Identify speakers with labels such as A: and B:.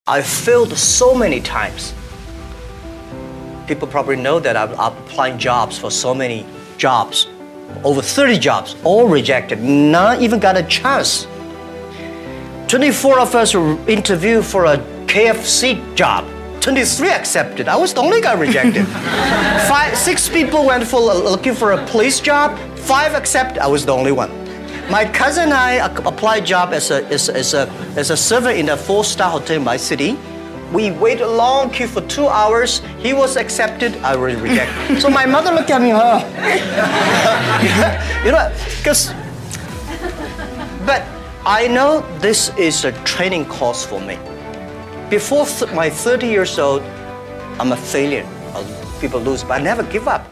A: I failed so many times. People probably know that I'm applying jobs for so many jobs, over 30 jobs, all rejected, not even got a chance. 24 of us were interviewed for a KFC job. 23 accepted. I was the only guy rejected. 6 people went for looking for a police job. 5 accepted. I was the only one. My cousin and I applied job as a server in a 4-star hotel in my city. We waited a long queue for 2 hours. He was accepted. I was rejected. So my mother looked at me, you know, because. But I know this is a training course for me. Before my 30 years old, I'm a failure. People lose, but I never give up.